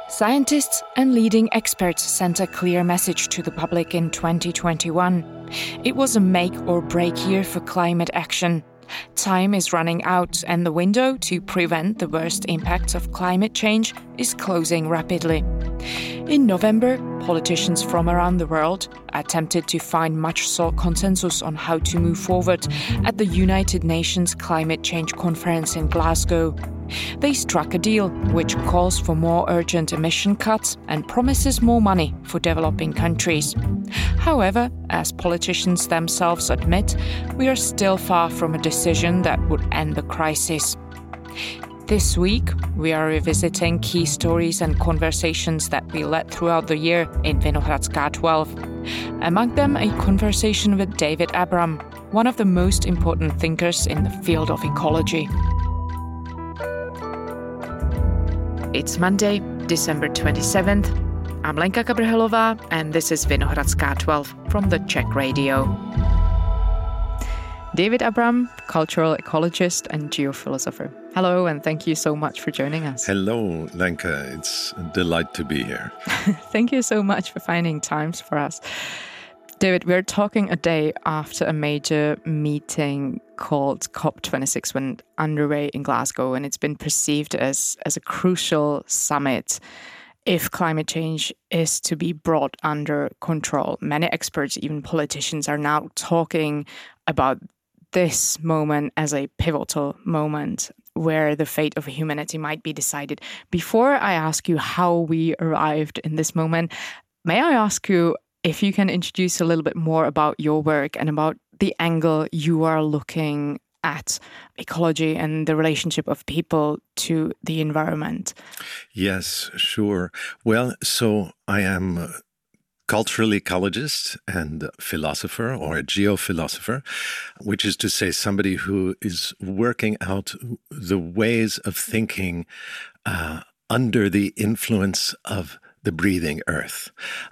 Scientists and leading experts sent a clear message to the public in 2021. It was a make or break year for climate action. Time is running out and the window to prevent the worst impacts of climate change is closing rapidly. In November, politicians from around the world attempted to find much-sought consensus on how to move forward at the United Nations Climate Change Conference in Glasgow. They struck a deal which calls for more urgent emission cuts and promises more money for developing countries. However, as politicians themselves admit, we are still far from a decision that would end the crisis. This week, we are revisiting key stories and conversations that we led throughout the year in Vinohradská 12. Among them, a conversation with David Abram, one of the most important thinkers in the field of ecology. It's Monday, December 27th. I'm Lenka Kabrhelová, and this is Vinohradská 12 from the Czech Radio. David Abram, cultural ecologist and geophilosopher. Hello, and thank you so much for joining us. Hello, Lenka. It's a delight to be here. Thank you so much for finding times for us. David, we're talking a day after a major meeting called COP26 went underway in Glasgow, and it's been perceived as a crucial summit if climate change is to be brought under control. Many experts, even politicians, are now talking about this moment as a pivotal moment where the fate of humanity might be decided. Before I ask you how we arrived in this moment, may I ask you if you can introduce a little bit more about your work and about the angle you are looking at ecology and the relationship of people to the environment? Yes, sure. Well, so I am a cultural ecologist and a philosopher or a geophilosopher, which is to say somebody who is working out the ways of thinking under the influence of the breathing earth.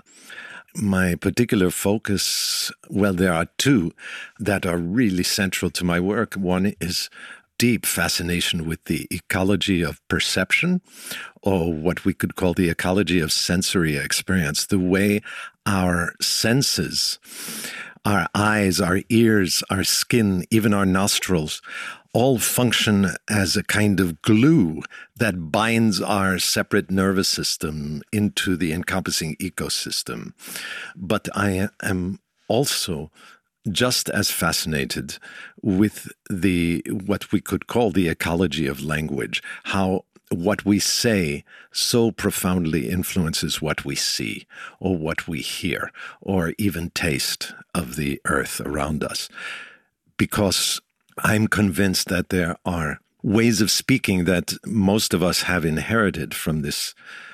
My particular focus, well, there are two that are really central to my work. One is deep fascination with the ecology of perception, or what we could call the ecology of sensory experience, the way our senses, our eyes, our ears, our skin, even our nostrils, all function as a kind of glue that binds our separate nervous system into the encompassing ecosystem. But I am also just as fascinated with what we could call the ecology of language, how what we say so profoundly influences what we see or what we hear or even taste of the earth around us. Because I'm convinced that there are ways of speaking that most of us have inherited from this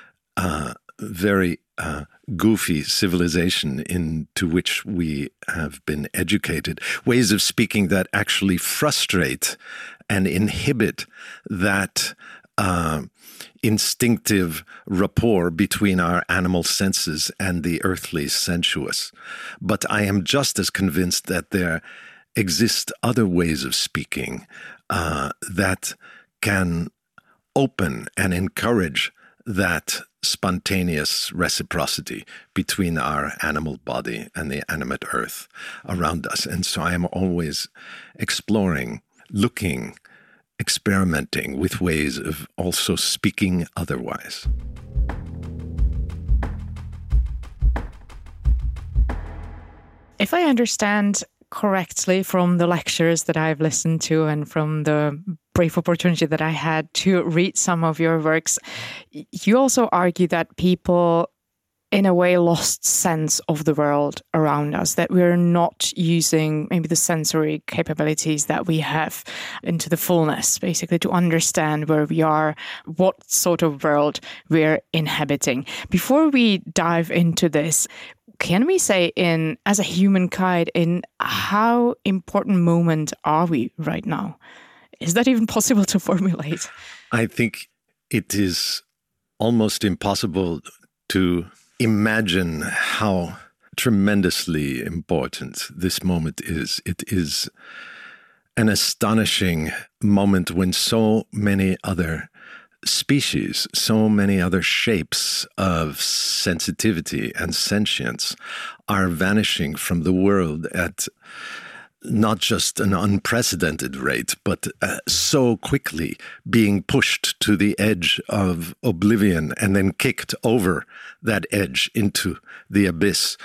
very goofy civilization into which we have been educated, ways of speaking that actually frustrate and inhibit that instinctive rapport between our animal senses and the earthly sensuous. But I am just as convinced that there exist other ways of speaking that can open and encourage that spontaneous reciprocity between our animal body and the animate earth around us. And so I am always exploring, looking, experimenting with ways of also speaking otherwise. If I understand correctly from the lectures that I've listened to and from the brief opportunity that I had to read some of your works, you also argue that people in a way lost sense of the world around us, that we're not using maybe the sensory capabilities that we have into the fullness, basically to understand where we are, what sort of world we're inhabiting. Before we dive into this, can we say as a humankind, in how important moment are we right now? Is that even possible to formulate? I think it is almost impossible to imagine how tremendously important this moment is. It is an astonishing moment when so many other species, so many other shapes of sensitivity and sentience are vanishing from the world at not just an unprecedented rate, but so quickly being pushed to the edge of oblivion and then kicked over that edge into the abyss.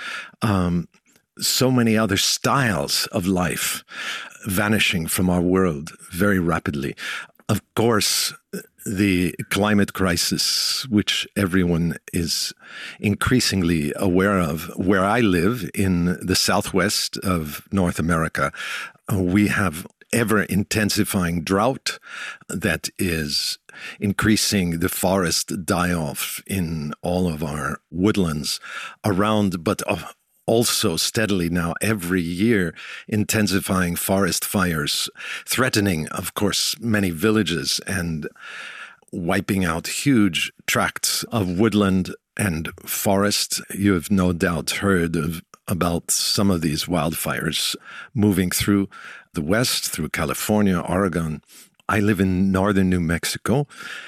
So many other styles of life vanishing from our world very rapidly. Of course, the climate crisis, which everyone is increasingly aware of. Where I live in the southwest of North America, we have ever-intensifying drought that is increasing the forest die-off in all of our woodlands around, but also steadily now every year intensifying forest fires, threatening, of course, many villages and wiping out huge tracts of woodland and forest. You have no doubt heard about some of these wildfires moving through the West, through California, Oregon. I live in northern New Mexico,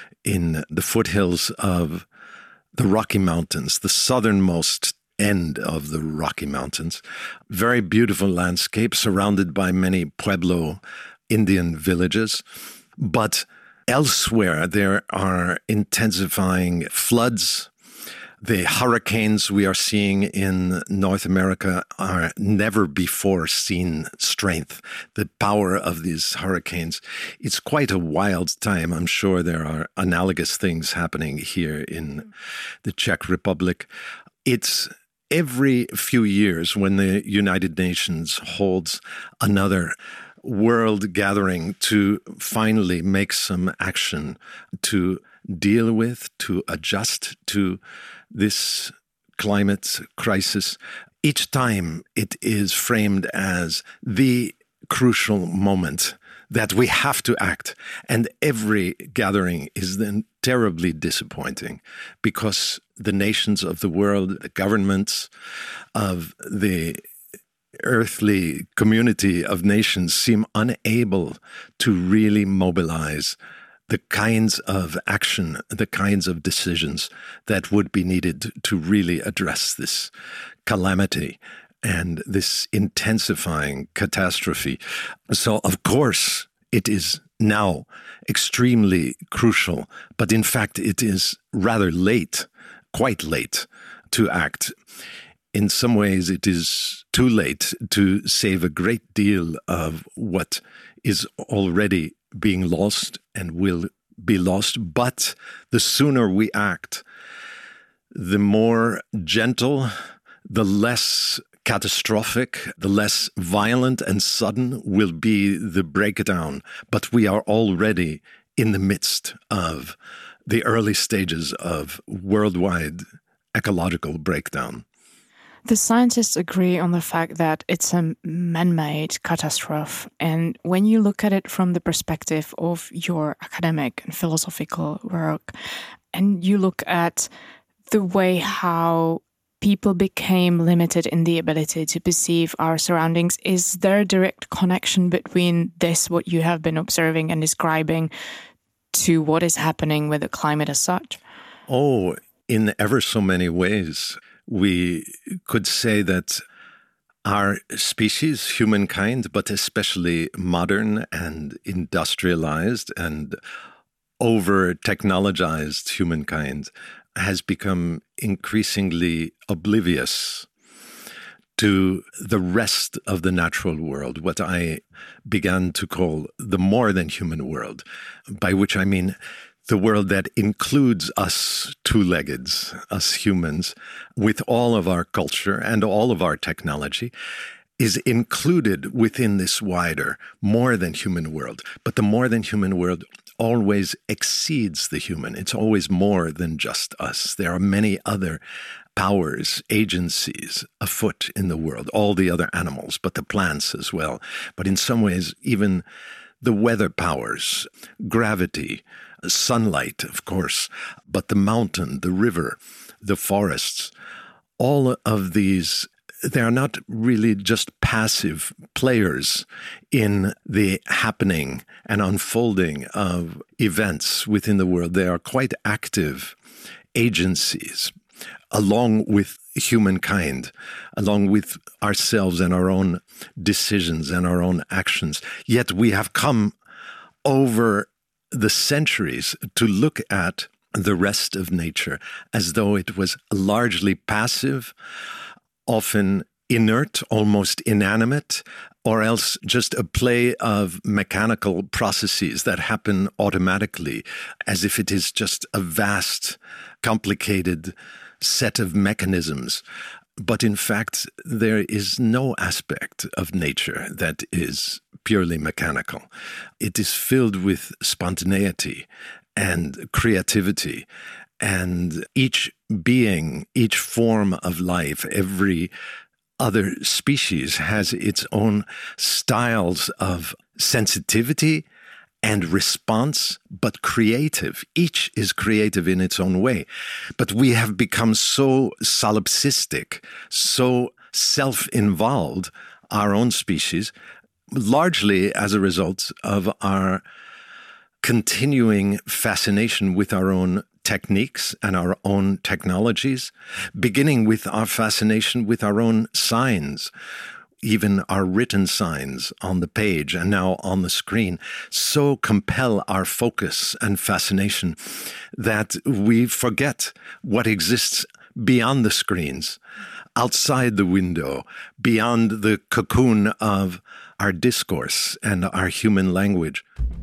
in the foothills of the Rocky Mountains, the southernmost end of the Rocky Mountains. Very beautiful landscape surrounded by many Pueblo Indian villages. But elsewhere, there are intensifying floods. The hurricanes we are seeing in North America are never before seen strength. The power of these hurricanes, it's quite a wild time. I'm sure there are analogous things happening here in the Czech Republic. It's every few years when the United Nations holds another world gathering to finally make some action to deal with, to adjust to this climate crisis. Each time it is framed as the crucial moment that we have to act. And every gathering is then terribly disappointing because the nations of the world, the governments of the earthly community of nations seem unable to really mobilize the kinds of action, the kinds of decisions that would be needed to really address this calamity and this intensifying catastrophe. So, of course, it is now extremely crucial, but in fact, it is rather late, quite late, to act. In some ways, it is too late to save a great deal of what is already being lost and will be lost. But the sooner we act, the more gentle, the less catastrophic, the less violent and sudden will be the breakdown. But we are already in the midst of the early stages of worldwide ecological breakdown. The scientists agree on the fact that it's a man-made catastrophe. And when you look at it from the perspective of your academic and philosophical work, and you look at the way how people became limited in the ability to perceive our surroundings, is there a direct connection between this, what you have been observing and describing, to what is happening with the climate as such? Oh, in ever so many ways. We could say that our species, humankind, but especially modern and industrialized and over-technologized humankind, has become increasingly oblivious to the rest of the natural world, what I began to call the more than human world, by which I mean the world that includes us two-leggeds, us humans, with all of our culture and all of our technology, is included within this wider, more than human world. But the more than human world always exceeds the human. It's always more than just us. There are many other powers, agencies afoot in the world, all the other animals, but the plants as well. But in some ways, even the weather powers, gravity, sunlight, of course, but the mountain, the river, the forests, all of these they are not really just passive players in the happening and unfolding of events within the world. They are quite active agencies along with humankind, along with ourselves and our own decisions and our own actions. Yet we have come over the centuries to look at the rest of nature as though it was largely passive, often inert, almost inanimate, or else just a play of mechanical processes that happen automatically, as if it is just a vast, complicated set of mechanisms. But in fact, there is no aspect of nature that is purely mechanical. It is filled with spontaneity and creativity. And each being, each form of life, every other species has its own styles of sensitivity and response, but creative. Each is creative in its own way. But we have become so solipsistic, so self-involved, our own species, largely as a result of our continuing fascination with our own techniques and our own technologies, beginning with our fascination with our own signs, even our written signs on the page and now on the screen, so compel our focus and fascination that we forget what exists beyond the screens, outside the window, beyond the cocoon of our discourse and our human language.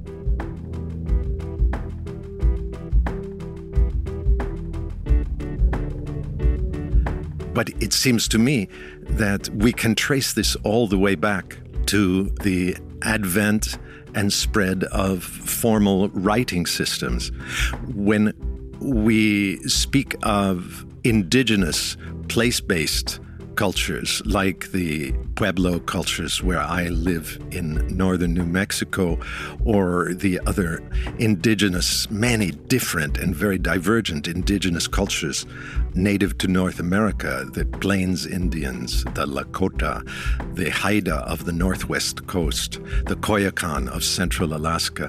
But it seems to me that we can trace this all the way back to the advent and spread of formal writing systems. When we speak of indigenous, place-based cultures like the Pueblo cultures where I live in northern New Mexico, or the other indigenous, many different and very divergent indigenous cultures native to North America, the Plains Indians, the Lakota, the Haida of the Northwest Coast, the Koyukon of Central Alaska.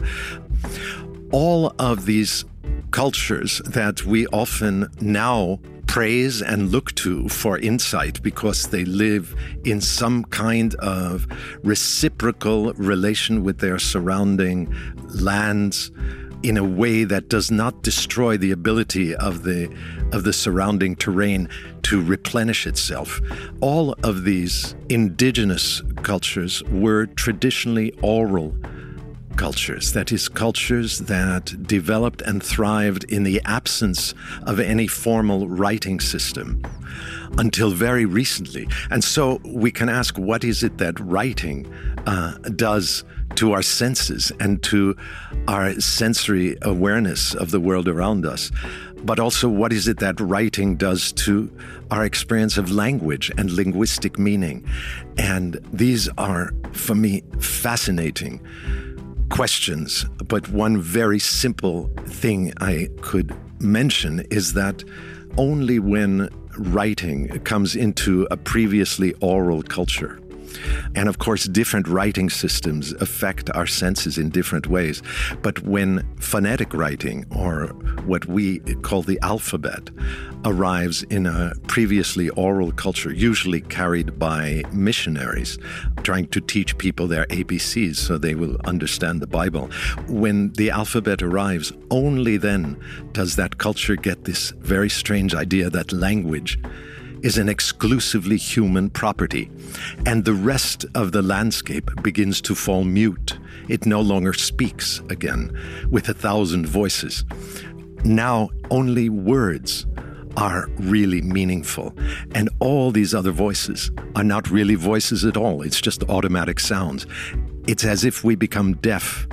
All of these cultures that we often now praise and look to for insight because they live in some kind of reciprocal relation with their surrounding lands in a way that does not destroy the ability of the surrounding terrain to replenish itself. All of these indigenous cultures were traditionally oral cultures, that is, cultures that developed and thrived in the absence of any formal writing system until very recently. And so we can ask, what is it that writing does to our senses and to our sensory awareness of the world around us? But also, what is it that writing does to our experience of language and linguistic meaning? And these are, for me, fascinating questions. But one very simple thing I could mention is that only when writing comes into a previously oral culture, and of course, different writing systems affect our senses in different ways. But when phonetic writing, or what we call the alphabet, arrives in a previously oral culture, usually carried by missionaries, trying to teach people their ABCs so they will understand the Bible. When the alphabet arrives, only then does that culture get this very strange idea that language is an exclusively human property, and the rest of the landscape begins to fall mute. It no longer speaks again with 1,000 voices. Now only words are really meaningful, and all these other voices are not really voices at all. It's just automatic sounds. It's as if we become deaf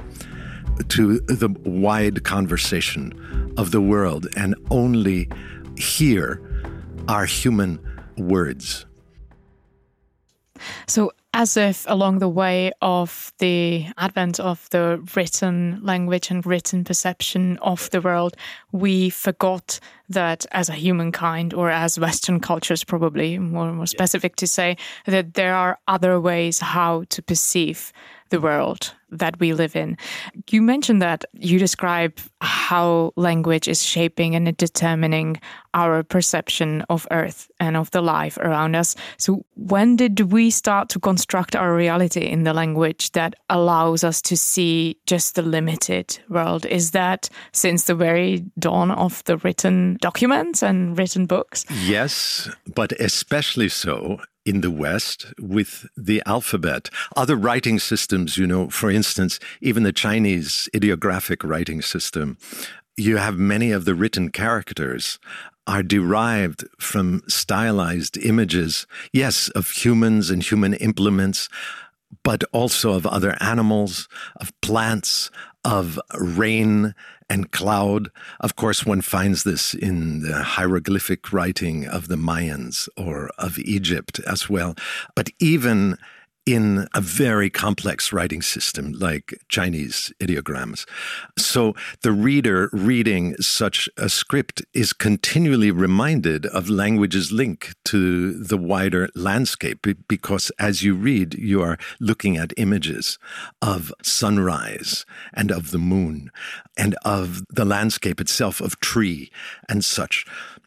to the wide conversation of the world and only hear our human words. So As if along the way of the advent of the written language and written perception of the world, we forgot that as a humankind, or as Western cultures probably, more specific to say, that there are other ways how to perceive the world that we live in. You mentioned that you describe how language is shaping and determining our perception of Earth and of the life around us. So when did we start to construct our reality in the language that allows us to see just the limited world? Is that since the very dawn of the written documents and written books? Yes, but especially so in the West with the alphabet. Other writing systems, for instance, even the Chinese ideographic writing system, you have many of the written characters are derived from stylized images, yes, of humans and human implements, but also of other animals, of plants, of rain and cloud. Of course, one finds this in the hieroglyphic writing of the Mayans or of Egypt as well. But even in a very complex writing system like Chinese ideograms. So the reader reading such a script is continually reminded of language's link to the wider landscape, because as you read, you are looking at images of sunrise and of the moon and of the landscape itself, of tree and such.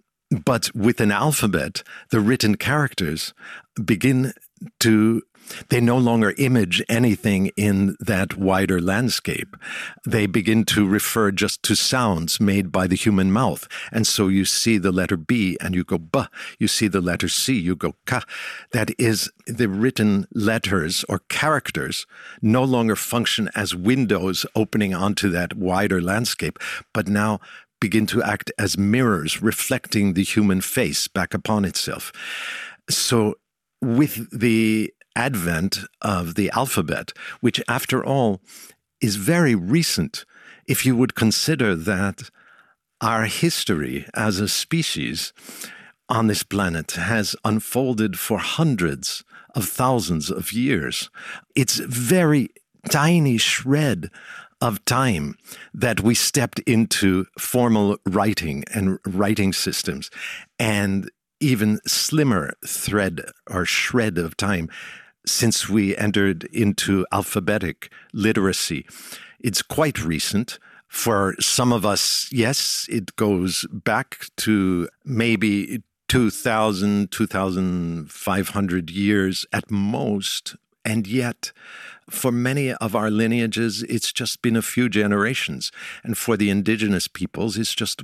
But with an alphabet, the written characters begin to they no longer image anything in that wider landscape. They begin to refer just to sounds made by the human mouth. And so you see the letter B and you go B. You see the letter C, you go K. That is, the written letters or characters no longer function as windows opening onto that wider landscape, but now begin to act as mirrors reflecting the human face back upon itself. So with the advent of the alphabet, which after all is very recent, if you would consider that our history as a species on this planet has unfolded for hundreds of thousands of years. It's a very tiny shred of time that we stepped into formal writing and writing systems, and even slimmer thread or shred of time since we entered into alphabetic literacy. It's quite recent. For some of us, yes, it goes back to maybe 2,000, 2,500 years at most. And yet, for many of our lineages, it's just been a few generations. And for the indigenous peoples, it's just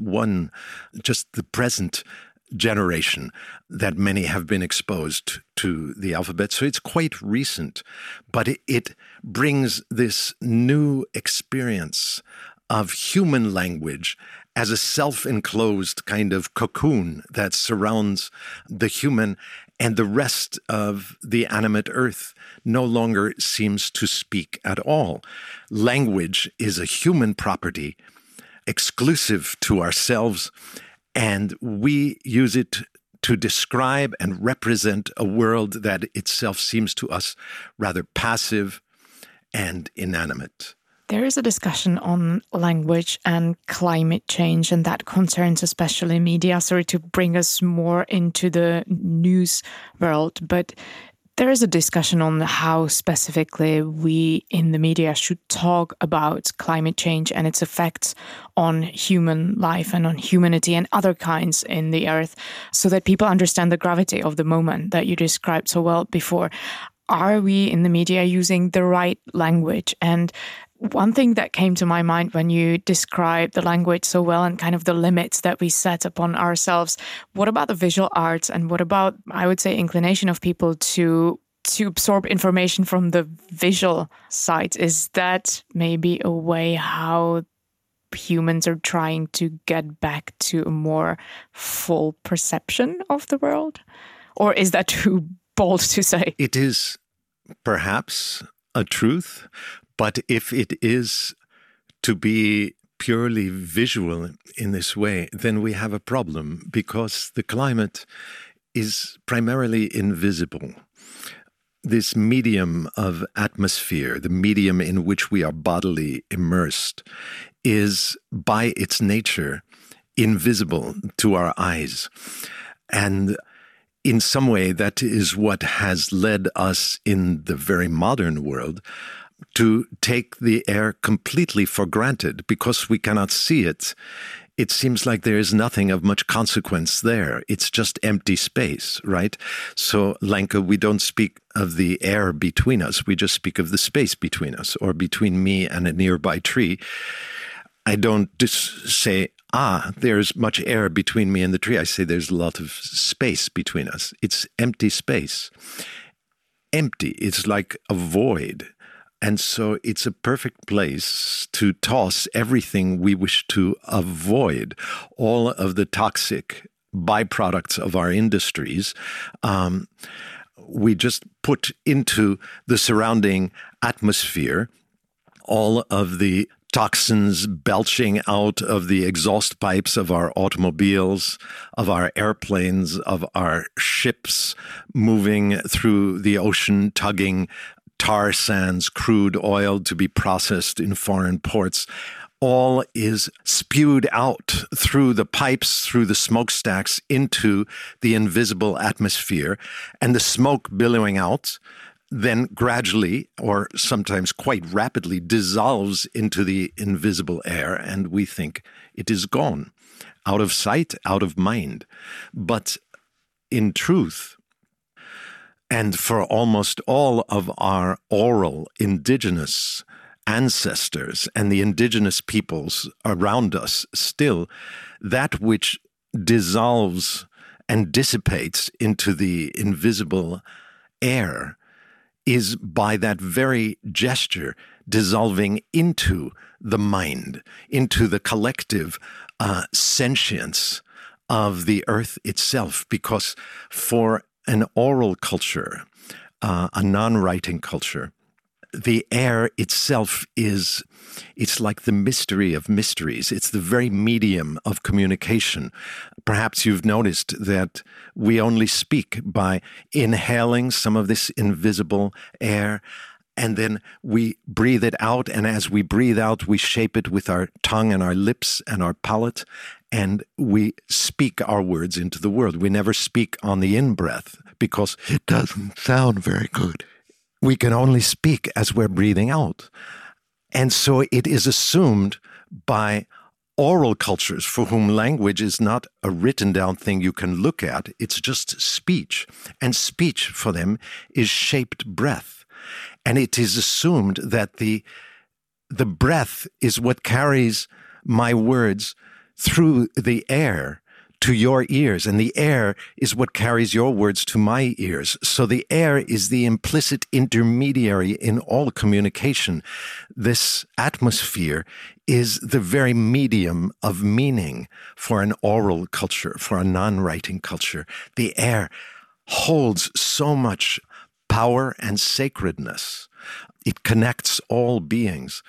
the present generation that many have been exposed to the alphabet. So it's quite recent, but it brings this new experience of human language as a self-enclosed kind of cocoon that surrounds the human, and the rest of the animate earth no longer seems to speak at all. Language is a human property exclusive to ourselves, and we use it to describe and represent a world that itself seems to us rather passive and inanimate. There is a discussion on language and climate change, and that concerns especially media. Sorry to bring us more into the news world, but there is a discussion on how specifically we in the media should talk about climate change and its effects on human life and on humanity and other kinds in the earth, so that people understand the gravity of the moment that you described so well before. Are we in the media using the right language? And one thing that came to my mind when you described the language so well and kind of the limits that we set upon ourselves, what about the visual arts, and what about, I would say, inclination of people to absorb information from the visual side? Is that maybe a way how humans are trying to get back to a more full perception of the world? Or is that too bold to say? It is perhaps a truth, but if it is to be purely visual in this way, then we have a problem, because the climate is primarily invisible. this medium of atmosphere, the medium in which we are bodily immersed, is by its nature invisible to our eyes. And in some way, that is what has led us in the very modern world to take the air completely for granted because we cannot see it. It seems like there is nothing of much consequence there. It's just empty space, right? So, Lenka, we don't speak of the air between us. We just speak of the space between us, or between me and a nearby tree. I don't just say, there's much air between me and the tree. I say there's a lot of space between us. It's empty space. Empty. It's like a void. And so it's a perfect place to toss everything we wish to avoid, all of the toxic byproducts of our industries. We just put into the surrounding atmosphere all of the toxins belching out of the exhaust pipes of our automobiles, of our airplanes, of our ships moving through the ocean, tugging tar sands, crude oil to be processed in foreign ports. All is spewed out through the pipes, through the smokestacks into the invisible atmosphere, and the smoke billowing out then gradually, or sometimes quite rapidly, dissolves into the invisible air, and we think it is gone, out of sight, out of mind. But in truth, and for almost all of our oral indigenous ancestors and the indigenous peoples around us still, that which dissolves and dissipates into the invisible air is by that very gesture dissolving into the mind, into the collective sentience of the earth itself. Because for an oral culture, a non-writing culture, the air itself it's like the mystery of mysteries. It's the very medium of communication. Perhaps you've noticed that we only speak by inhaling some of this invisible air, and then we breathe it out. And as we breathe out, we shape it with our tongue and our lips and our palate, and we speak our words into the world. We never speak on the in-breath because it doesn't sound very good. We can only speak as we're breathing out. And so it is assumed by oral cultures for whom language is not a written down thing you can look at, it's just speech. And speech for them is shaped breath. And it is assumed that the breath is what carries my words through the air to your ears, and the air is what carries your words to my ears. So the air is the implicit intermediary in all communication. This atmosphere is the very medium of meaning for an oral culture, for a non-writing culture. The air holds so much power and sacredness. It connects all beings.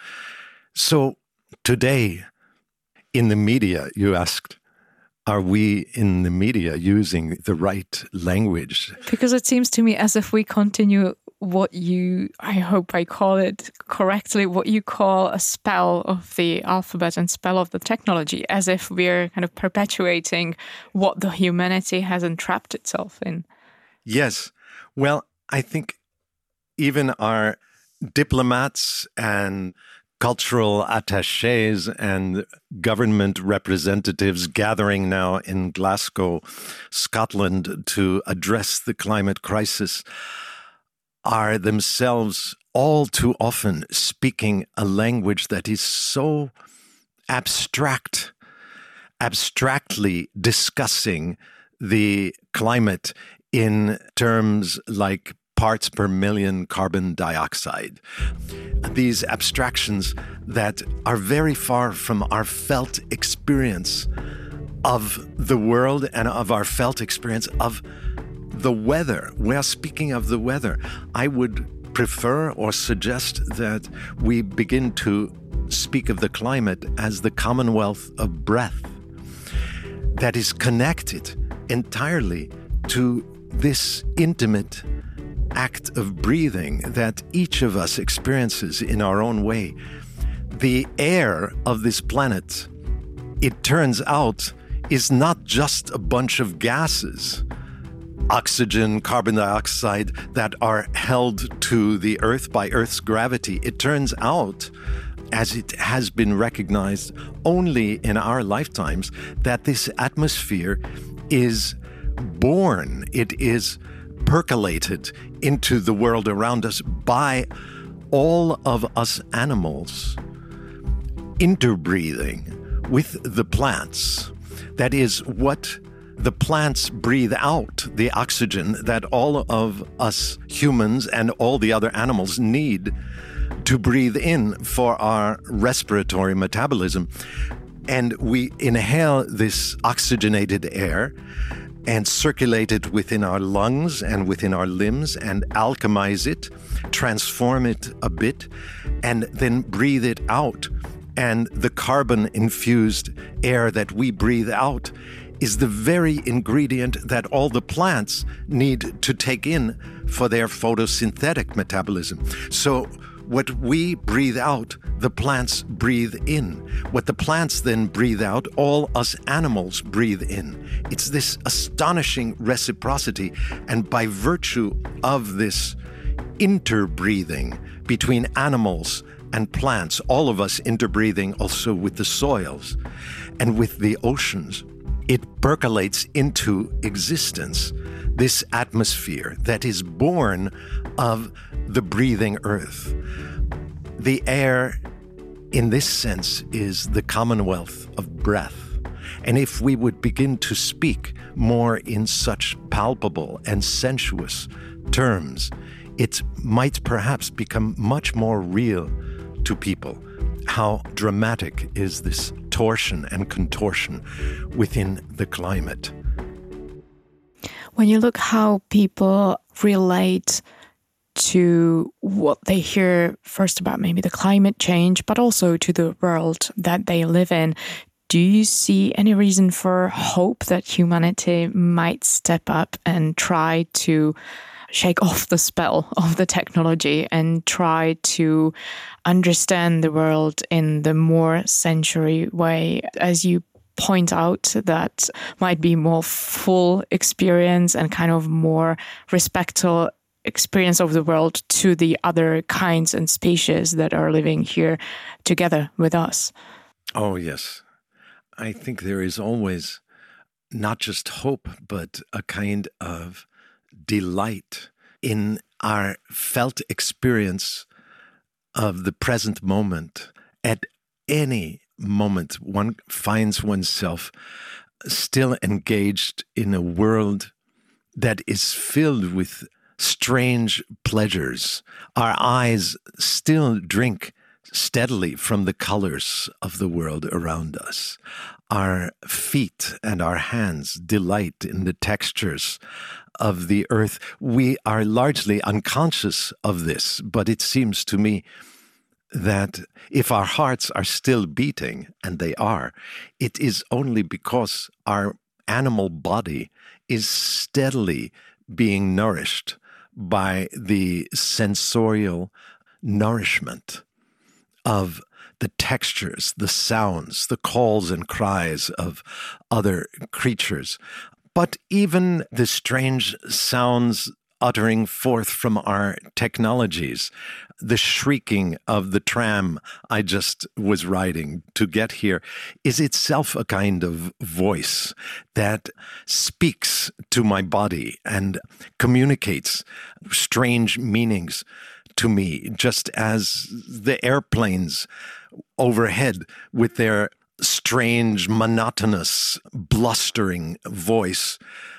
So today, in the media, you asked, are we in the media using the right language? Because it seems to me as if we continue what you, I hope I call it correctly, what you call a spell of the alphabet and spell of the technology, as if we're kind of perpetuating what the humanity has entrapped itself in. Yes. Well, I think even our diplomats and cultural attachés and government representatives gathering now in Glasgow, Scotland, to address the climate crisis are themselves all too often speaking a language that is so abstract, abstractly discussing the climate in terms like parts per million carbon dioxide. These abstractions that are very far from our felt experience of the world and of our felt experience of the weather. We are speaking of the weather. I would prefer or suggest that we begin to speak of the climate as the commonwealth of breath that is connected entirely to this intimate act of breathing that each of us experiences in our own way. The air of this planet, it turns out, is not just a bunch of gases, oxygen, carbon dioxide, that are held to the Earth by Earth's gravity. It turns out, as it has been recognized only in our lifetimes, that this atmosphere is born, it is percolated into the world around us by all of us animals interbreathing with the plants. That is what the plants breathe out, the oxygen that all of us humans and all the other animals need to breathe in for our respiratory metabolism. And we inhale this oxygenated air and circulate it within our lungs and within our limbs and alchemize it, transform it a bit, and then breathe it out. And the carbon-infused air that we breathe out is the very ingredient that all the plants need to take in for their photosynthetic metabolism. So what we breathe out, the plants breathe in. What the plants then breathe out, all us animals breathe in. It's this astonishing reciprocity. And by virtue of this interbreathing between animals and plants, all of us interbreathing also with the soils and with the oceans, it percolates into existence, this atmosphere that is born of the breathing earth. The air, in this sense, is the commonwealth of breath. And if we would begin to speak more in such palpable and sensuous terms, it might perhaps become much more real to people. How dramatic is this torsion and contortion within the climate? When you look how people relate to what they hear first about maybe the climate change, but also to the world that they live in, do you see any reason for hope that humanity might step up and try to shake off the spell of the technology and try to understand the world in the more sensory way, as you point out, that might be more full experience and kind of more respectful experience of the world to the other kinds and species that are living here together with us? Oh, yes. I think there is always not just hope, but a kind of delight in our felt experience of the present moment. At any moment, one finds oneself still engaged in a world that is filled with strange pleasures. Our eyes still drink steadily from the colors of the world around us. Our feet and our hands delight in the textures of the earth. We are largely unconscious of this, but it seems to me that if our hearts are still beating, and they are, it is only because our animal body is steadily being nourished by the sensorial nourishment of the textures, the sounds, the calls and cries of other creatures. But even the strange sounds uttering forth from our technologies, the shrieking of the tram I just was riding to get here, is itself a kind of voice that speaks to my body and communicates strange meanings to me, just as the airplanes overhead with their strange, monotonous, blustering voice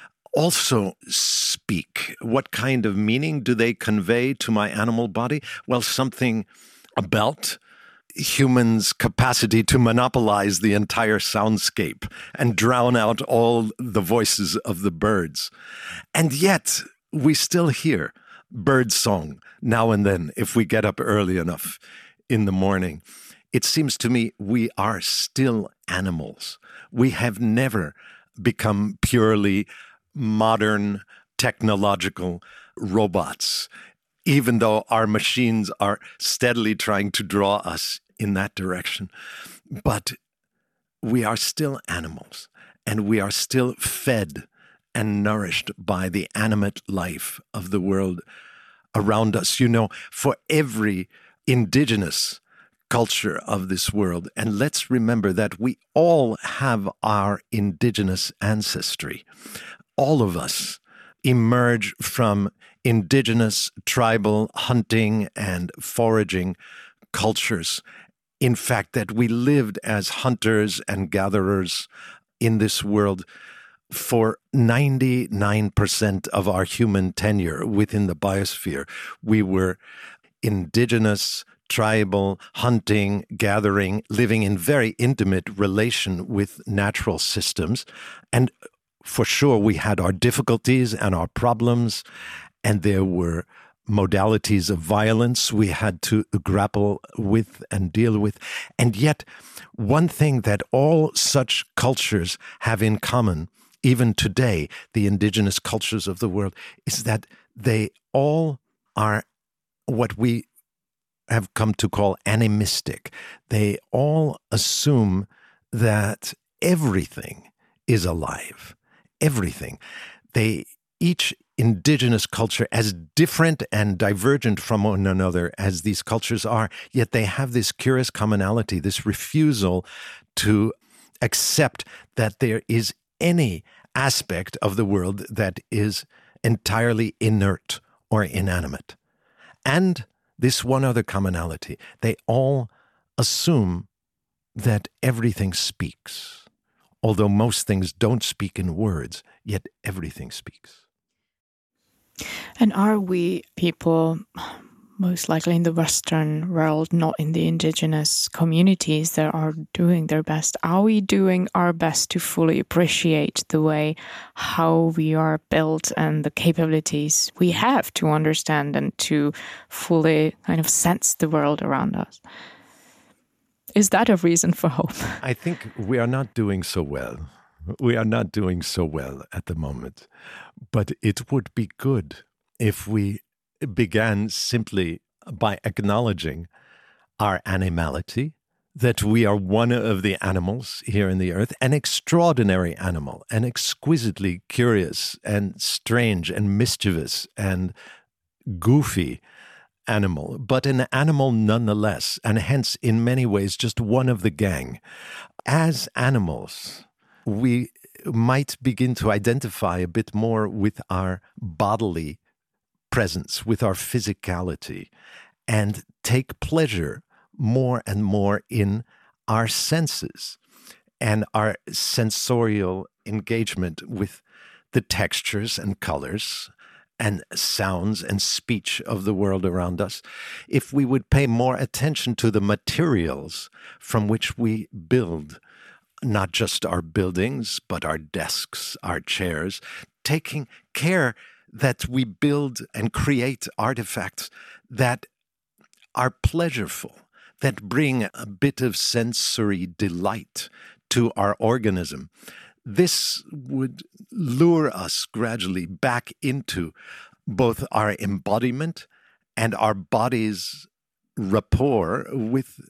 also speak. What kind of meaning do they convey to my animal body? Well, something about humans' capacity to monopolize the entire soundscape and drown out all the voices of the birds. And yet, we still hear bird song now and then if we get up early enough in the morning. It seems to me we are still animals. We have never become purely modern technological robots, even though our machines are steadily trying to draw us in that direction. But we are still animals, and we are still fed and nourished by the animate life of the world around us. You know, for every indigenous culture of this world, and let's remember that we all have our indigenous ancestry. All of us emerge from indigenous tribal hunting and foraging cultures. In fact, that we lived as hunters and gatherers in this world for 99% of our human tenure within the biosphere. We were indigenous, tribal, hunting, gathering, living in very intimate relation with natural systems. And for sure, we had our difficulties and our problems, and there were modalities of violence we had to grapple with and deal with. And yet, one thing that all such cultures have in common, even today, the indigenous cultures of the world, is that they all are what we have come to call animistic. They all assume that everything is alive. Everything. Each indigenous culture, as different and divergent from one another as these cultures are, yet they have this curious commonality, this refusal to accept that there is any aspect of the world that is entirely inert or inanimate. And this one other commonality, they all assume that everything speaks. Although most things don't speak in words, yet everything speaks. And are we people, most likely in the Western world, not in the indigenous communities that are doing their best, are we doing our best to fully appreciate the way how we are built and the capabilities we have to understand and to fully kind of sense the world around us? Is that a reason for hope? I think we are not doing so well. We are not doing so well at the moment. But it would be good if we began simply by acknowledging our animality, that we are one of the animals here in the earth, an extraordinary animal, an exquisitely curious and strange and mischievous and goofy animal, but an animal nonetheless, and hence in many ways just one of the gang. As animals, we might begin to identify a bit more with our bodily presence, with our physicality, and take pleasure more and more in our senses and our sensorial engagement with the textures and colors and sounds and speech of the world around us. If we would pay more attention to the materials from which we build, not just our buildings, but our desks, our chairs, taking care that we build and create artifacts that are pleasureful, that bring a bit of sensory delight to our organism. This would lure us gradually back into both our embodiment and our body's rapport with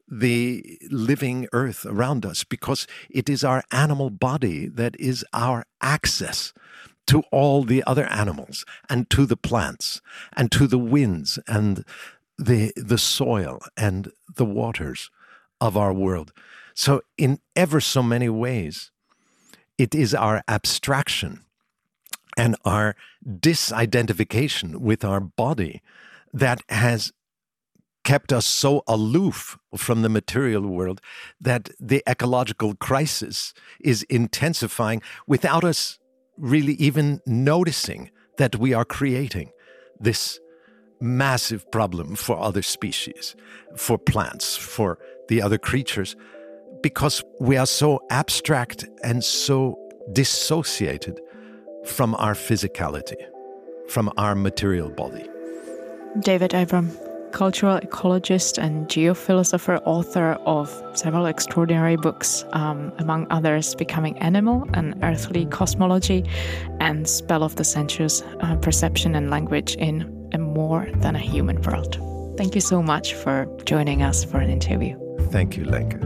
the living earth around us, because it is our animal body that is our access to all the other animals and to the plants and to the winds and the soil and the waters of our world. So in ever so many ways, it is our abstraction and our disidentification with our body that has kept us so aloof from the material world that the ecological crisis is intensifying without us really even noticing that we are creating this massive problem for other species, for plants, for the other creatures, because we are so abstract and so dissociated from our physicality, from our material body. David Abram, cultural ecologist and geophilosopher, author of several extraordinary books, among others Becoming Animal, An Earthly Cosmology, and Spell of the Sensuous, Perception and Language in a More Than a Human World. Thank you so much for joining us for an interview. Thank you, Lenka.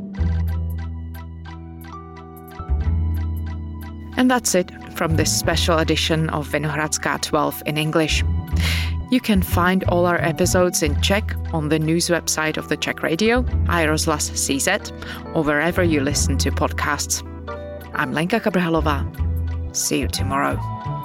And that's it from this special edition of Vinohradská 12 in English. You can find all our episodes in Czech on the news website of the Czech Radio, iRozhlas CZ, or wherever you listen to podcasts. I'm Lenka Kabrhalová. See you tomorrow.